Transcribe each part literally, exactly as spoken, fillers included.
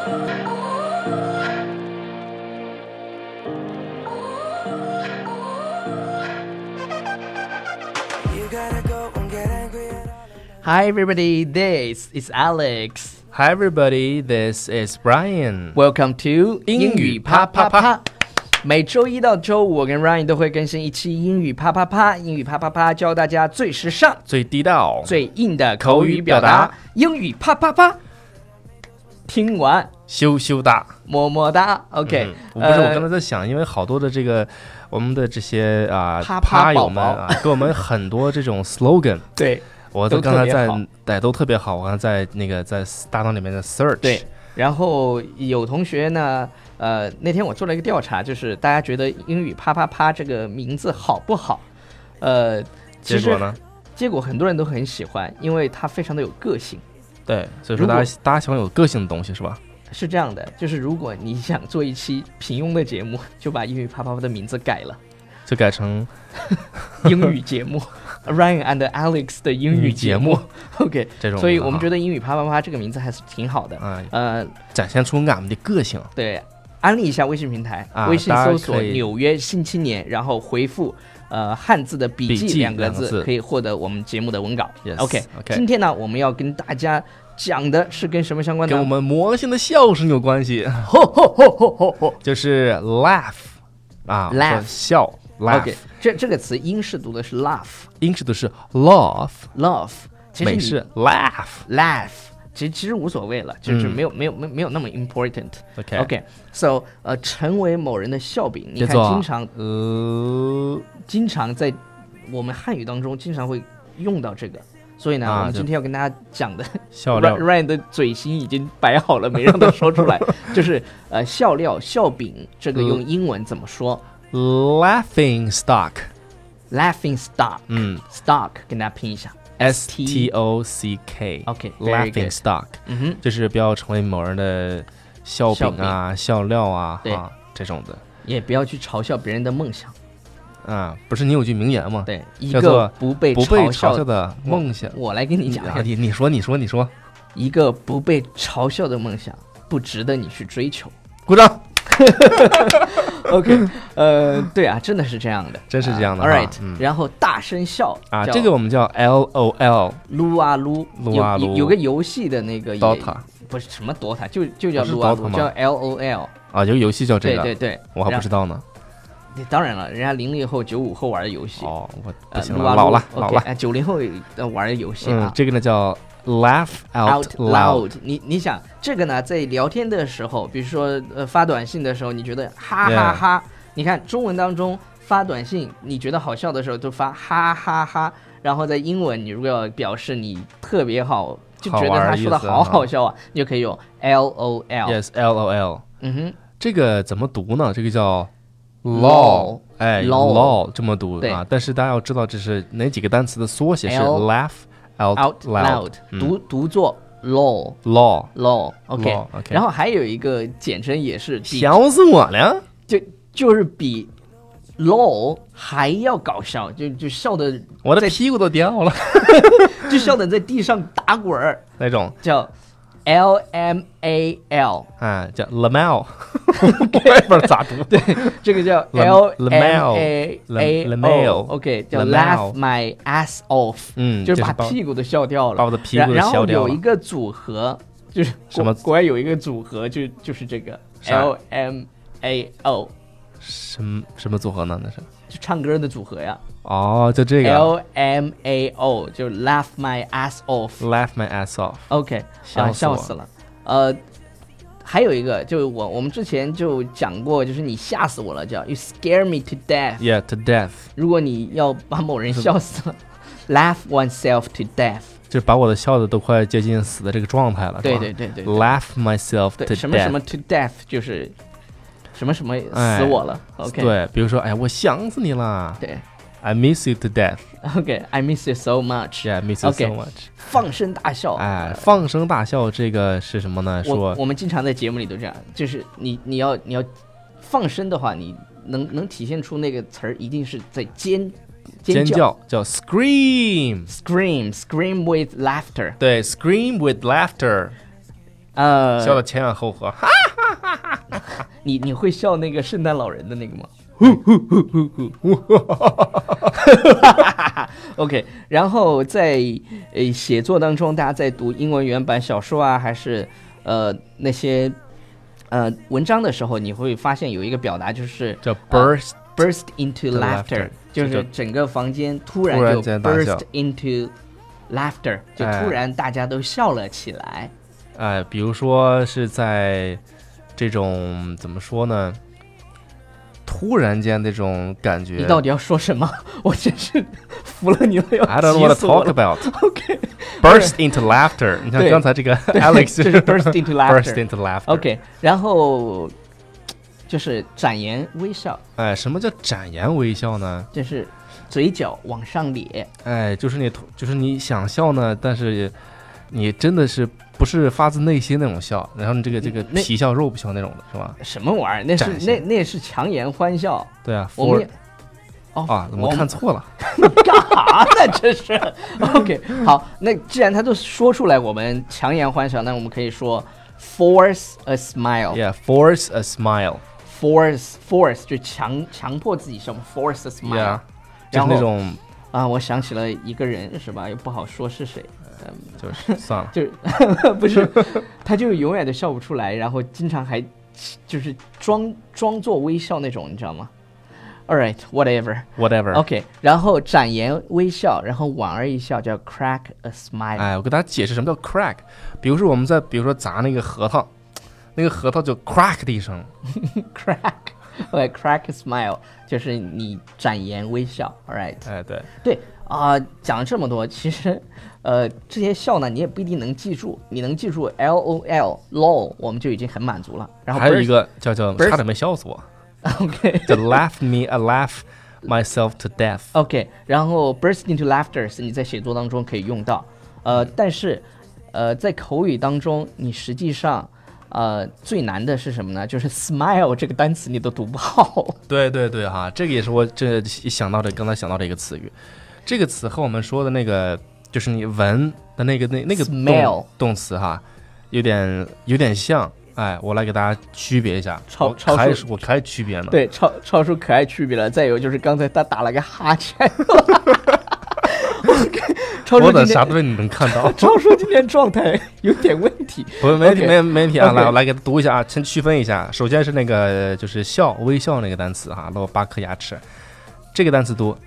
Hi everybody, this is Alex. Hi everybody, this is Brian. Welcome to 英语啪啪啪。 每周一到周五，我跟 Ryan 都会更新一期英语啪啪啪。英语啪啪啪，教大家最时尚、 最地道、 最硬的口语表达。英语啪啪啪，听完羞羞哒， 么么哒。OK，、 嗯、我不是、呃，我刚才在想，因为好多的这个我们的这些啊啪啪友们啊，给我们很多这种 slogan。 对。 我刚才在对都特别好，我刚才在那个在大脑里面的 search。 对，然后有同学呢，呃，那天我做了一个调查，就是大家觉得英语啪啪啪这个名字好不好？呃， 结果呢？ 结果很多人都很喜欢，因为它非常的有个性。 对，所以说大家大家喜欢有个性的东西是吧？ 是这样的，就是如果你想做一期平庸的节目，就把英语啪啪啪的名字改了， 就改成英语节目。Ryan and Alex 的英语节目 ，OK， 这种， 所以我们觉得英语啪啪啪这个名字还是挺好的， 啊、 呃， 展现出俺们的个性。 对，安利一下微信平台， 啊、 微信搜索“纽约新青年”，然后回复呃汉字的笔记两个字，可以获得我们节目的文稿。 Yes, OK， OK， 今天呢，我们要跟大家讲的是跟什么相关的？ 跟我们魔性的笑声有关系。 吼吼吼吼吼吼， 就是 laugh 啊 ，laugh 笑。 OK， 这这个词英式读的是 laugh， 英式读是 love，love， 美式 laugh，laugh， 其实其实无所谓了，就是没有、嗯、没有没没有那么 important。OK OK，so 呃，成为某人的笑柄，你看经常呃， 经常在我们汉语当中经常会用到这个。所以呢、啊，我们今天要跟大家讲的笑料 ，Ryan 的嘴型已经摆好了，没让他说出来。就是呃，笑料、笑柄，这个用英文怎么说？ Laughing stock， laughing stock， 嗯 ，stock 跟大家拼一下 ，S T O C K，OK，laughing stock， 嗯哼， 就是不要成为某人的笑柄啊、笑料啊，啊这种的， 也不要去嘲笑别人的梦想。 啊，不是你有句名言吗？ 对，一个不被不被嘲笑的梦想。 我, 我来跟你讲， 你你说你说你说， 一个不被嘲笑的梦想，不值得你去追求。 鼓掌。 OK， 呃，对啊，真的是这样的， 真是这样的。 uh, All right，、 嗯、 然后大声笑啊，这个我们叫 L O L， 撸啊撸， 撸啊撸， 有有个游戏的那个 Dota， 不是什么 Dota， 就就叫撸啊撸，叫 L O L 啊，有个游戏叫这个， 对对对， 我还不知道呢。 当然了，人家零零后、九五后玩的游戏哦，我不行了， 呃、老了老了。 哎，九零后玩的游戏啊、 嗯，这个呢叫 laugh out loud。 你你想这个呢，在聊天的时候，比如说呃发短信的时候，你觉得哈哈哈， yeah. 你看中文当中发短信，你觉得好笑的时候就发哈哈哈，然后在英文你如果要表示你特别好，就觉得他说的好好笑啊，你就可以用 L O L。Yes, L O L。 嗯哼， 这个怎么读呢？这个叫lol， 哎 ，lol 这么读啊，但是大家要知道这是哪几个单词的缩写，是 laugh out loud， 读读作 lol law law OK， 然后还有一个简称也是， 笑死我了， 就就是比 lol 还要搞笑，就就笑的我的屁股都掉了， 就笑的在地上打滚儿那种， 叫 L M A L， 啊，叫 Lamel， 我也不知道咋读。 对，这个叫 L M A A O，OK， 叫 Laugh my ass off， 嗯， 就是把屁股都笑掉了， 把我的屁股都笑掉了。 然后有一个组合，就是什么？ 国外有一个组合，就就是这个 L M A O， 什么什么组合呢？那是就唱歌的组合呀。 哦，就这个 L M A O， 就 Laugh my ass off，Laugh my ass off。OK， 笑笑死了。呃，还有一个，就我我们之前就讲过，就是你吓死我了，叫 You scare me to death。Yeah, to death。 如果你要把某人笑死了，Laugh oneself to death， 就是把我的笑的都快接近死的这个状态了。 对对对对 ，Laugh myself to death。 什么什么 to death 就是什么什么死我了。 哎、 OK， 对，比如说，哎，我想死你了。 对。 I miss you to death. Okay, I miss you so much. Yeah, I miss you so much. Okay, 放声大笑。 哎，放声大笑这个是什么呢？说我我们经常在节目里都这样，就是你你要你要放声的话，你能能体现出那个词儿，一定是在尖尖叫，叫 scream scream scream with laughter。 对 ，scream with laughter。 呃， 笑的前仰后合。 你你会笑那个圣诞老人的那个吗？OK， 然后在呃写作当中，大家在读英文原版小说啊，还是呃那些呃文章的时候，你会发现有一个表达就是叫 burst、 呃、burst into laughter， 就是整个房间突然就 burst into laughter， 就突然大家都笑了起来。 哎、呃，比如说是在这种怎么说呢？突然间那种感觉， 你到底要说什么？我真是服了你了，要 I don't know what to talk about. OK, burst into laughter. 你看刚才这个 Alex 就是 burst into laughter. burst into laughter. OK, 然后就是展颜微笑。 哎，什么叫展颜微笑呢？ 就是嘴角往上咧。 哎，就是你，就是你想笑呢，但是你真的是不是发自内心那种笑，然后你这个这个皮笑肉不笑那种的，是吧？ 什么玩意儿？那是那那是强颜欢笑。 对啊， 我们也哦啊，怎么看错了？ 干啥呢？这是 OK。好，那既然他都说出来，我们强颜欢笑，那我们可以说 force a smile。 Yeah, force a smile. Force force 就强强迫自己笑 ，force a smile。 Yeah, 就是那种啊，我想起了一个人，是吧？又不好说是谁。 嗯，就是算了， 就是不是，他就永远都笑不出来，然后经常还就是装装作微笑那种，你知道吗 ？All right, whatever, whatever. OK， 然后展颜微笑，然后莞尔一笑，叫 crack a smile。 哎，我给大家解释什么叫 crack。比如说我们在比如说砸那个核桃，那个核桃就 crack 的一声 ，crack，OK， crack a smile 就是你展颜微笑 ，All right。 哎，对对啊、呃，讲了这么多，其实。呃，这些笑呢，你也不一定能记住。你能记住 L O L lol， 我们就已经很满足了。然后还有一个叫叫差点没笑死我。 OK， 叫 laugh me, I laugh myself to death。 OK， 然后 burst into laughter 是你在写作当中可以用到。呃，但是呃，在口语当中，你实际上呃最难的是什么呢？就是 smile 这个单词你都读不好。 对对对哈，这个也是我这想到的，刚才想到的一个词语。这个词和我们说的那个。就是你闻的那个那那个 smell 动词哈，有点有点像，哎，我来给大家区别一下。 超超叔，我开区别呢。 对，超超叔可爱区别了。再有就是刚才他打了个哈欠，超叔我的啥东西你能看到？ 超叔今天状态有点问题。 不，没问题，没没问题啊！来，我来给他读一下啊，先区分一下。首先是那个就是笑微笑那个单词哈，露八颗牙齿，这个单词读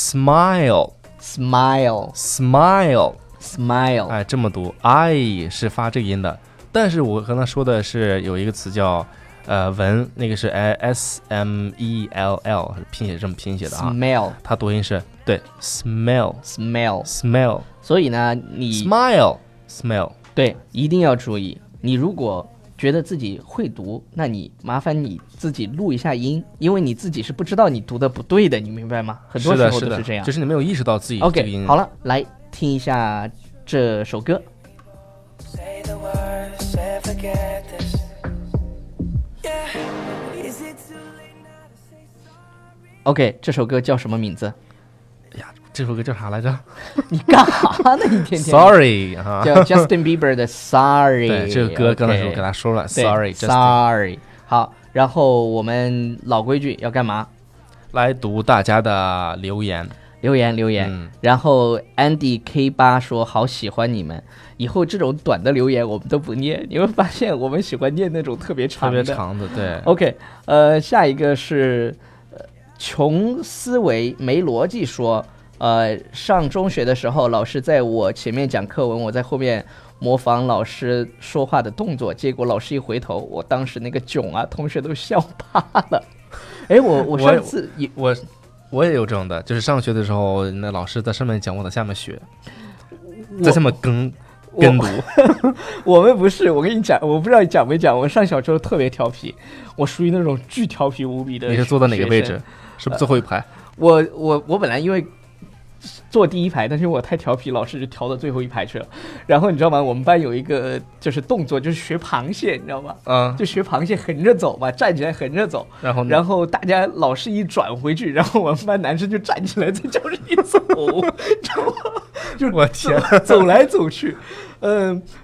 smile。Smile, smile, smile， 哎，这么读 ，I 是发这个音的。但是我刚才说的是有一个词叫呃闻，那个是 S M E L L， 拼写这么拼写的啊。 Smell， 它读音是对 ，smell, smell, smell。 所以呢，你 smile, smell， 对，一定要注意。你如果觉得自己会读，那你麻烦你自己录一下音，因为你自己是不知道你读的不对的，你明白吗？很多时候都是这样， 就是你没有意识到自己这个音。 OK， 好了，来听一下这首歌。OK， 这首歌叫什么名字？ 哎呀，这首歌叫啥来着？ 你干啥呢？你天天 Sorry 啊， 叫 Justin Bieber 的 Sorry。 对，这个歌刚才我给他说了 Sorry Sorry。好，然后我们老规矩要干嘛？ 来读大家的留言。 留言留言、嗯、然后 Andy K 八 说好喜欢你们，以后这种短的留言我们都不念，你会发现我们喜欢念那种特别长的特别长的。对 OK， 呃，下一个是穷思维没逻辑说，呃，上中学的时候老师在我前面讲课文，我在后面模仿老师说话的动作，结果老师一回头，我当时那个囧啊，同学都笑趴了。哎，我我上次也我 我, 我也有这种的，就是上学的时候，那老师在上面讲，我在下面学，在下面跟跟读。 我们不是，我跟你讲，我不知道你讲没讲，我上小时候特别调皮，我属于那种巨调皮无比的。 你是坐在哪个位置？是不是最后一排？ 呃、我我我本来因为坐第一排，但是我太调皮，老师就调到最后一排去了。然后你知道吗？我们班有一个就是动作，就是学螃蟹，你知道吗？ 嗯， 就学螃蟹横着走嘛，站起来横着走。 然后然后大家老师一转回去，然后我们班男生就站起来在教室里走，知道吗？就是我天， 走来走去。嗯，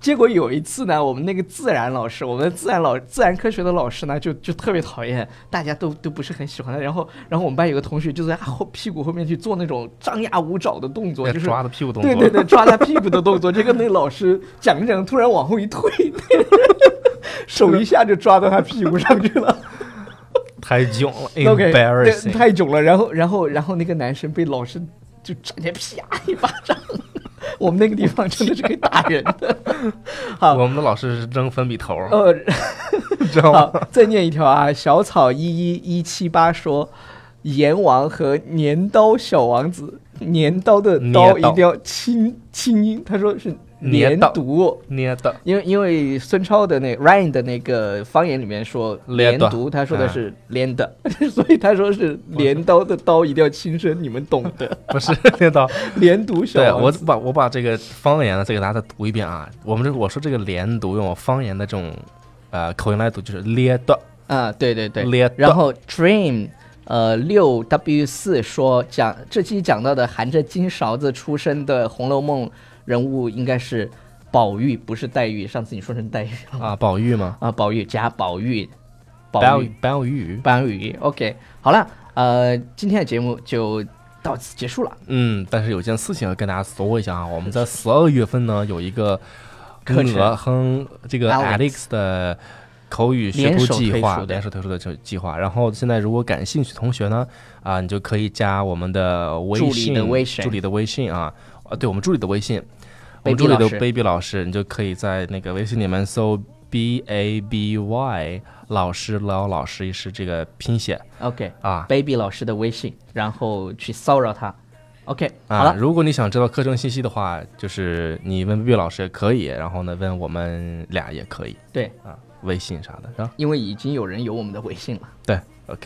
结果有一次呢，我们那个自然老师，我们的自然老自然科学的老师呢，就就特别讨厌，大家都都不是很喜欢他。然后，然后我们班有个同学就在后屁股后面去做那种张牙舞爪的动作，就是抓他屁股动作。 对对对，抓他屁股的动作。这个那老师讲着讲着突然往后一退，手一下就抓到他屁股上去了。 太囧了 ，embarrassing， 太囧了。然后，然后，然后那个男生被老师就直接啪一巴掌。我们那个地方真的是可以打人的。好， 我们的老师是扔粉笔头。 呃， 知道吗？ 好，再念一条啊，小草一一一七八说，阎王和镰刀小王子，镰刀的刀一定要清清音，他说是。连读， 连的， 因为因为孙超的那 Ryan 的那个方言里面说连读，他说的是连的，嗯、所以他说是镰刀的刀一定要轻声，你们懂的。 不是镰刀， 连读小王子。对，我把我把这个方言呢再给大家再读一遍啊。我们这我说这个连读用我方言的这种呃口音来读就是咧的啊，对对对， 咧的。 然后 Dream 呃六 W 四说讲这期讲到的含着金勺子出生的《红楼梦》。人物应该是宝玉，不是黛玉。上次你说成黛玉啊，宝玉吗？ 啊，宝玉加宝玉， 宝玉，宝玉， 宝玉。OK， 好了，呃，今天的节目就到此结束了。 嗯，但是有件事情要跟大家说一下啊，我们在十二月份呢有一个我和这个 Alex 的口语学徒计划，联手推出的计划。然后现在如果感兴趣的同学呢，啊，你就可以加我们的微信， 助理的微信， 助理的微信啊。啊，对，我们助理的微信，我们助理的 baby 老师，你就可以在那个微信里面搜 B A B Y 老师lão老师是这个拼写 ，OK 啊 ，baby 老师的微信，然后去骚扰他 ，OK， 啊， 好了。 如果你想知道课程信息的话，就是你问 baby 老师也可以，然后呢问我们俩也可以， 对啊，微信啥的，是吧？ 因为已经有人有我们的微信了。 对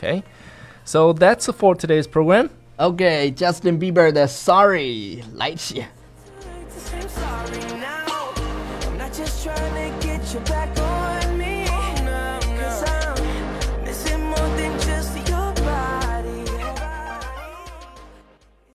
，OK，so that's for today's program。 OK， Justin Bieber 的 Sorry 来起。